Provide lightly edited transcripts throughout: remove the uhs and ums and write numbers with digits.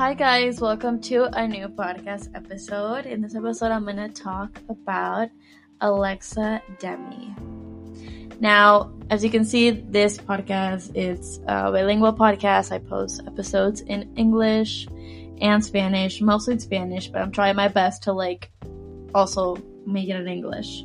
Hi guys, welcome to a new podcast episode. In this episode, I'm going to talk about Alexa Demie. Now, as you can see, this podcast is a bilingual podcast. I post episodes in English and Spanish, mostly in Spanish, but I'm trying my best to also make it in English.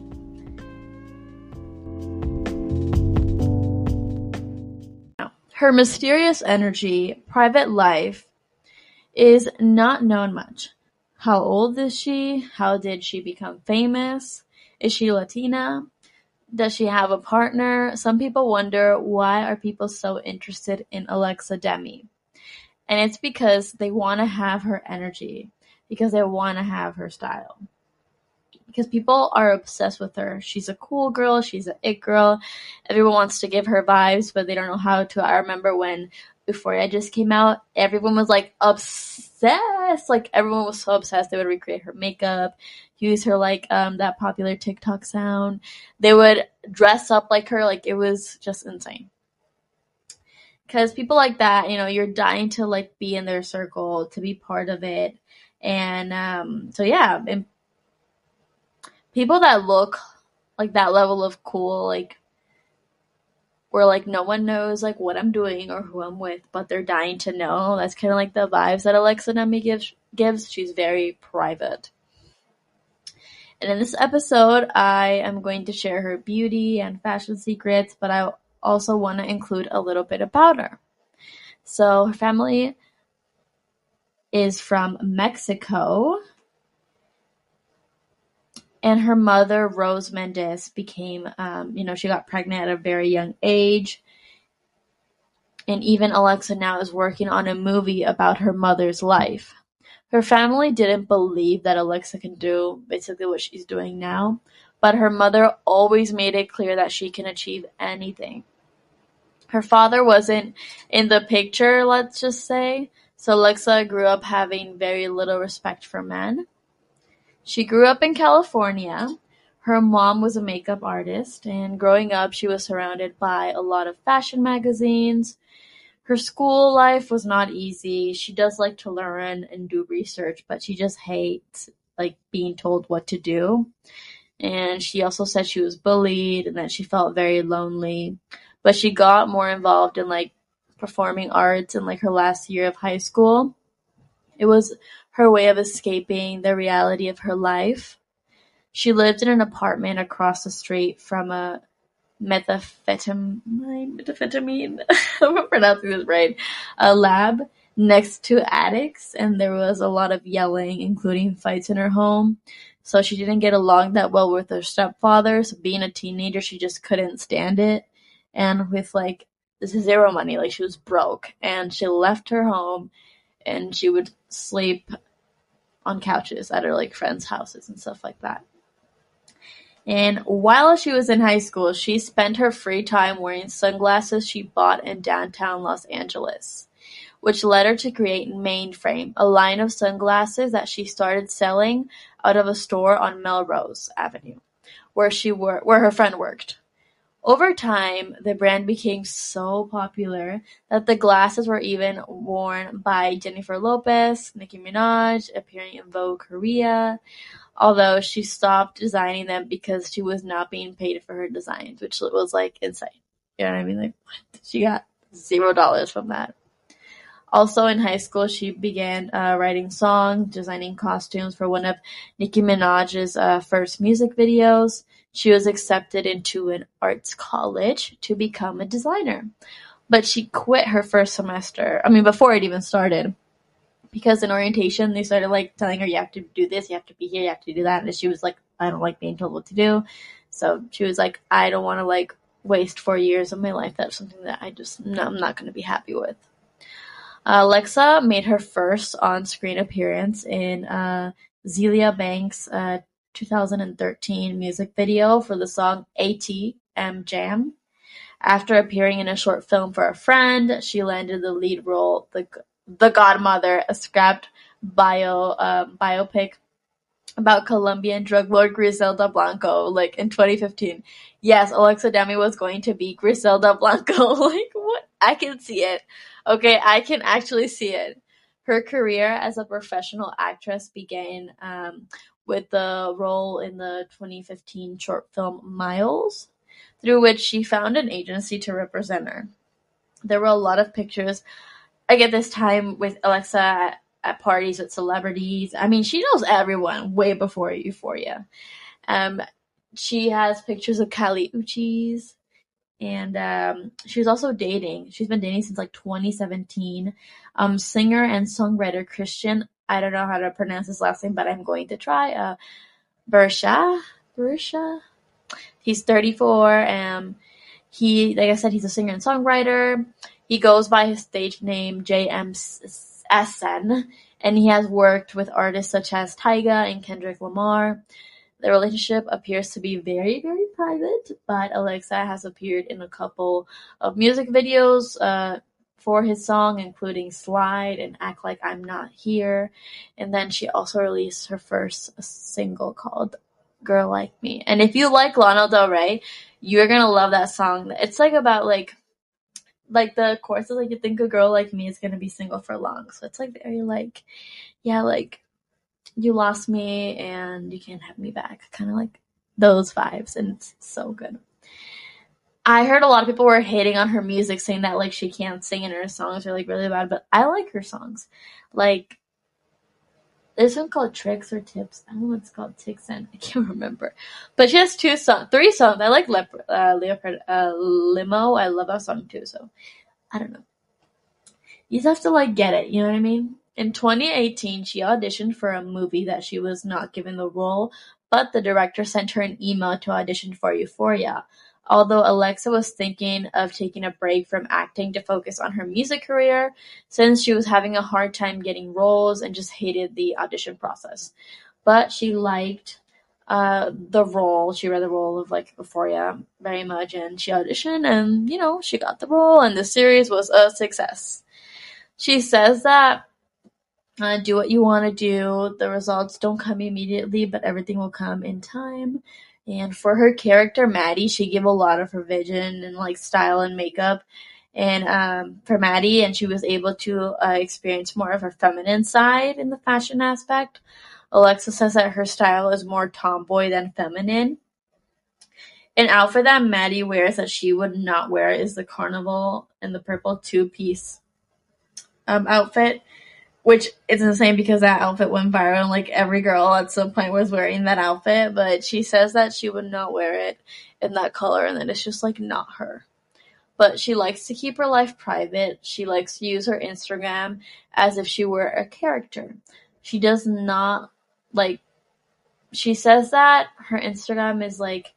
Now, her mysterious energy, private life, is not known much. How old is she? How did she become famous? Is she Latina? Does she have a partner? Some people wonder, why are people so interested in Alexa Demie? And it's because they want to have her energy, because they want to have her style. Because people are obsessed with her. She's a cool girl. She's an it girl. Everyone wants to give her vibes, but they don't know how to. I remember when Euphoria just came out, everyone was obsessed. Everyone was so obsessed. They would recreate her makeup, use her that popular TikTok sound. They would dress up like her. It was just insane. Because people like that, you're dying to be in their circle, to be part of it. And and people that look like that level of cool, where no one knows what I'm doing or who I'm with, but they're dying to know. That's kind of the vibes that Alexa Demie gives. She's very private. And in this episode, I am going to share her beauty and fashion secrets, but I also want to include a little bit about her. So her family is from Mexico. And her mother, Rose Mendez, became, she got pregnant at a very young age. And even Alexa now is working on a movie about her mother's life. Her family didn't believe that Alexa can do basically what she's doing now. But her mother always made it clear that she can achieve anything. Her father wasn't in the picture, let's just say. So Alexa grew up having very little respect for men. She grew up in California. Her mom was a makeup artist, and growing up, she was surrounded by a lot of fashion magazines. Her school life was not easy. She does like to learn and do research, but she just hates being told what to do. And she also said she was bullied and that she felt very lonely. But she got more involved in performing arts in her last year of high school. It was her way of escaping the reality of her life. She lived in an apartment across the street from a methamphetamine, I'm pronouncing this right, a lab next to addicts, and there was a lot of yelling, including fights in her home. So she didn't get along that well with her stepfather, so being a teenager, she just couldn't stand it. And with zero money, she was broke, and she left her home, and she would sleep on couches at her friends' houses and stuff like that. And while she was in high school, she spent her free time wearing sunglasses she bought in downtown Los Angeles, which led her to create Mainframe, a line of sunglasses that she started selling out of a store on Melrose Avenue, where her friend worked. Over time, the brand became so popular that the glasses were even worn by Jennifer Lopez, Nicki Minaj, appearing in Vogue Korea, although she stopped designing them because she was not being paid for her designs, which was insane. You know what I mean? What? She got $0 from that. Also in high school, she began writing songs, designing costumes for one of Nicki Minaj's first music videos. She was accepted into an arts college to become a designer. But she quit her first semester, before it even started. Because in orientation, they started telling her, you have to do this, you have to be here, you have to do that. And she was I don't like being told what to do. So she was I don't want to waste 4 years of my life. That's something that I'm not going to be happy with. Alexa made her first on-screen appearance in Zelia Banks' 2013 music video for the song ATM Jam. After appearing in a short film for a friend, she landed the lead role, The Godmother, a scrapped biopic about Colombian drug lord Griselda Blanco, in 2015. Yes, Alexa Demie was going to be Griselda Blanco. What? I can see it. Okay, I can actually see it. Her career as a professional actress began with the role in the 2015 short film Miles, through which she found an agency to represent her. There were a lot of pictures, like at this time, with Alexa at parties with celebrities. I mean, she knows everyone way before Euphoria. Um, she has pictures of Kali Uchis, and she's also dating. She's been dating since like 2017. Singer and songwriter Christian. I don't know how to pronounce his last name, but I'm going to try. Berisha. He's 34. He, like I said, he's a singer and songwriter. He goes by his stage name JMSN, and he has worked with artists such as Tyga and Kendrick Lamar. The relationship appears to be very, very private, but Alexa has appeared in a couple of music videos for his song, including Slide and Act Like I'm Not Here. And then she also released her first single called Girl Like Me. And if you like Lana Del Rey, you're gonna love that song. It's like about like the chorus is like, you think a girl like me is gonna be single for long. So it's like very like, yeah, like you lost me and you can't have me back. Kind of like those vibes, and it's so good. I heard a lot of people were hating on her music, saying that like she can't sing and her songs are like really bad, but I like her songs. Like there's one called Tricks or Tips. I don't know what it's called. Ticks and I can't remember. But she has three songs. I like Leopard Limo. I love that song too. So I don't know. You just have to like get it. You know what I mean? In 2018, she auditioned for a movie that she was not given the role, but the director sent her an email to audition for Euphoria. Although Alexa was thinking of taking a break from acting to focus on her music career, since she was having a hard time getting roles and just hated the audition process. But she liked the role. She read the role of like Euphoria very much, and she auditioned, and she got the role, and the series was a success. She says that do what you want to do. The results don't come immediately, but everything will come in time. And for her character, Maddie, she gave a lot of her vision and like style and makeup. And for Maddie, and she was able to experience more of her feminine side in the fashion aspect. Alexa says that her style is more tomboy than feminine. An outfit that Maddie wears that she would not wear is the Carnival and the purple two-piece outfit, which is insane because that outfit went viral and like every girl at some point was wearing that outfit, but she says that she would not wear it in that color and that it's just like not her. But she likes to keep her life private. She likes to use her Instagram as if she were a character. She does not like, she says that her Instagram is like,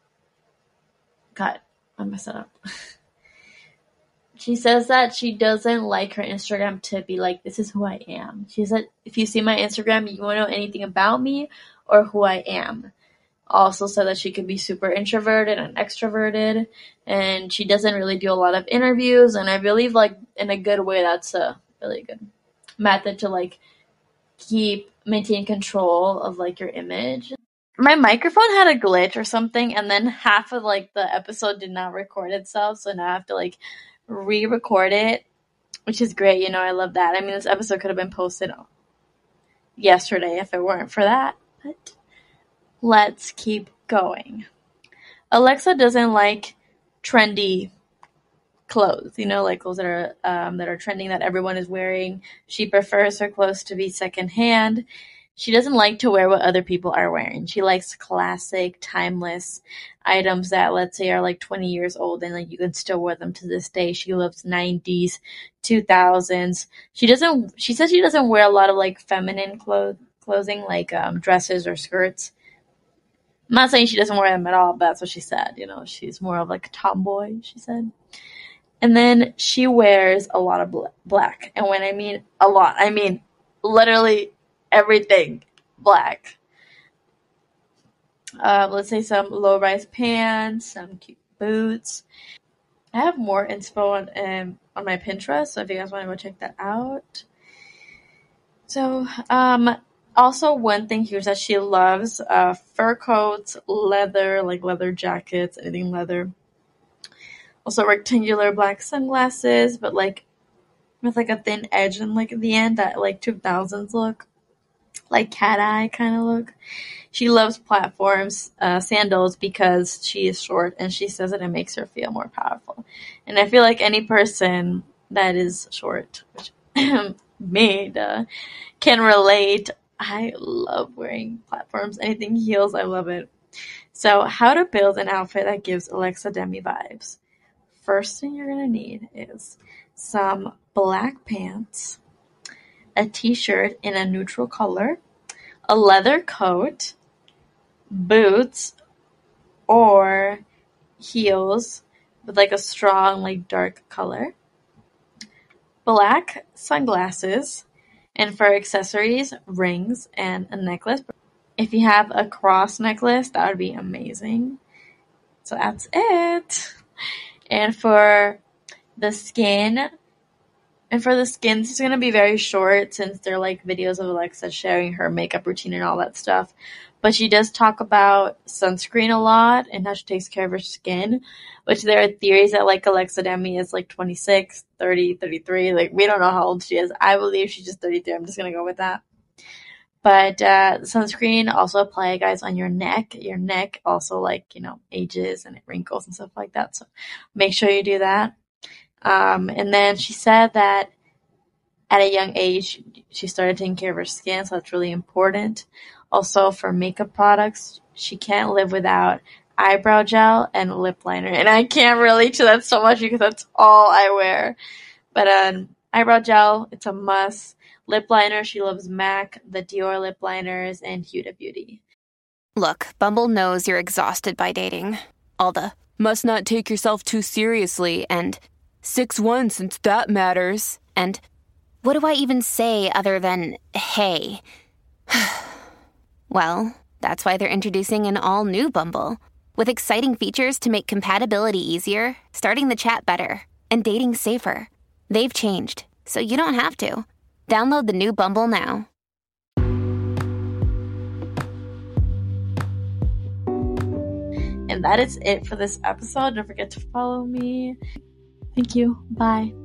God, I messed it up. She says that she doesn't like her Instagram to be like, this is who I am. She said, if you see my Instagram, you want to know anything about me or who I am. Also said that she could be super introverted and extroverted, and she doesn't really do a lot of interviews, and I believe like in a good way that's a really good method to like maintain control of like your image. My microphone had a glitch or something, and then half of like the episode did not record itself, so now I have to like re-record it, which is great. I love that. I mean, this episode could have been posted yesterday if it weren't for that, but let's keep going. Alexa doesn't like trendy clothes, like clothes that are trending that everyone is wearing. She prefers her clothes to be secondhand. She doesn't like to wear what other people are wearing. She likes classic, timeless items that, let's say, are like 20 years old and like you can still wear them to this day. She loves 90s, 2000s. She says she doesn't wear a lot of like feminine clothing like dresses or skirts. I'm not saying she doesn't wear them at all, but that's what she said. She's more of like a tomboy, she said. And then she wears a lot of black. And when I mean a lot, I mean literally everything black. Let's say some low-rise pants, some cute boots. I have more info on my Pinterest, so if you guys want to go check that out. So, also one thing here is that she loves fur coats, leather, like leather jackets, anything leather. Also rectangular black sunglasses, but like with like a thin edge and like at the end, that like 2000s look, like cat eye kind of look. She loves platforms, sandals, because she is short, and she says that it makes her feel more powerful. And I feel like any person that is short, which me, can relate. I love wearing platforms. Anything heels, I love it. So, how to build an outfit that gives Alexa Demi vibes. First thing you're gonna need is some black pants, a t-shirt in a neutral color, a leather coat, boots, or heels with like a strong, like dark color, black sunglasses, and for accessories, rings and a necklace. If you have a cross necklace, that would be amazing. So that's it. And for the skin, it's going to be very short since they're like videos of Alexa sharing her makeup routine and all that stuff. But she does talk about sunscreen a lot and how she takes care of her skin, which there are theories that like Alexa Demi is like 26, 30, 33. Like we don't know how old she is. I believe she's just 33. I'm just going to go with that. But sunscreen also apply, guys, on your neck. Your neck also like, ages and it wrinkles and stuff like that. So make sure you do that. And then she said that at a young age, she started taking care of her skin, so that's really important. Also, for makeup products, she can't live without eyebrow gel and lip liner. And I can't relate to that so much because that's all I wear. But eyebrow gel, it's a must. Lip liner, she loves MAC, the Dior lip liners, and Huda Beauty. Look, Bumble knows you're exhausted by dating. All the must not take yourself too seriously and 6'1" since that matters. And what do I even say other than, hey? Well, that's why they're introducing an all-new Bumble, with exciting features to make compatibility easier, starting the chat better, and dating safer. They've changed, so you don't have to. Download the new Bumble now. And that is it for this episode. Don't forget to follow me. Thank you. Bye.